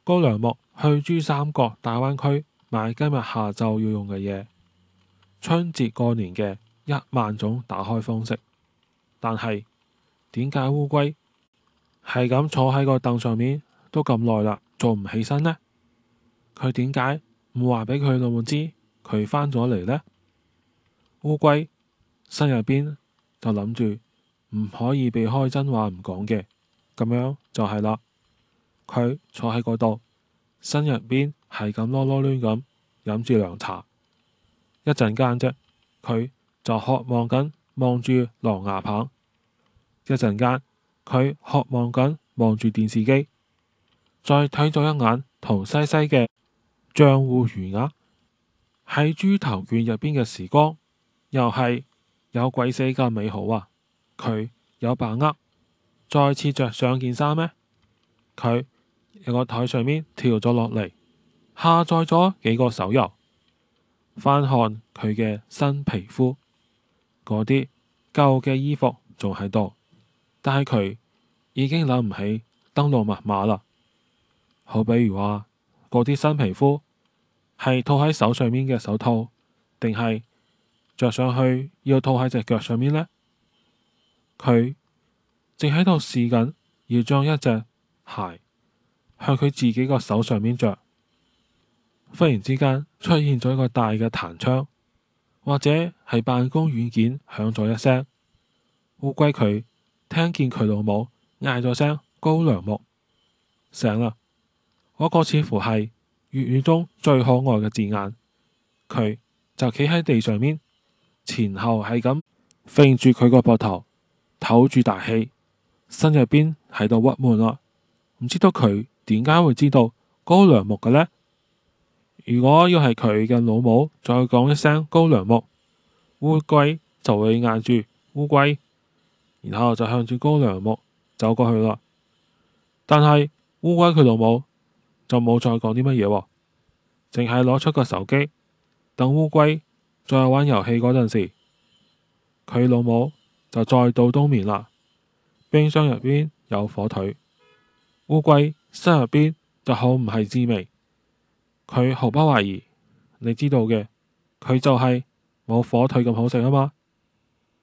高粱木去珠三角大灣區買今日下晝要用嘅嘢，春節過年嘅1萬種打開方式。但係點解烏龜係咁坐喺個凳上面都咁耐啦，做唔起身呢？佢點解唔話俾佢老母知佢返咗嚟呢？烏龜心入邊就諗住唔可以避開真話唔講嘅，咁樣就係啦。佢坐喺嗰度，心入邊係咁囉囉攣咁飲住涼茶。一陣間啫，佢就渴望緊望住狼牙棒；一陣間佢渴望緊望住電視機，再睇咗一眼同西西嘅賬戶餘額。喺豬頭卷入邊嘅時光，又係有鬼死咁美好啊！佢有把握再次着上件衫咩？佢由個台上面跳咗落嚟，下載咗幾個手遊，翻看佢嘅新皮膚，嗰啲舊嘅衣服仲喺度，但係佢已經諗唔起登錄密碼啦。好比如話，嗰啲新皮膚係套喺手上面嘅手套，定係着上去要套喺隻腳上面呢？佢正喺度試緊要將一隻鞋向佢自己個手上面着。忽然之間出現咗一個大嘅彈窗，或者係辦公軟件響咗一聲。烏龜佢聽見佢老母嗌咗聲高粱木，醒啦。嗰個似乎係粵語中最可愛嘅字眼。佢就企喺地上面，前後係咁揈住佢個膊頭，唞住大氣，心入邊喺度鬱悶啦。唔知道佢點解會知道高粱木嘅呢？如果要係佢嘅老母再講一聲高粱木，烏龜就會嗌住烏龜，然後就向住高粱木走過去啦。但係烏龜佢老母就冇再講啲乜嘢，淨係攞出個手機，等烏龜再玩遊戲嗰陣時，佢老母就再度冬眠啦。冰箱入邊有火腿，烏龜心入邊就好唔係滋味。佢毫不懷疑，你知道嘅，佢就係冇火腿咁好食啊嘛。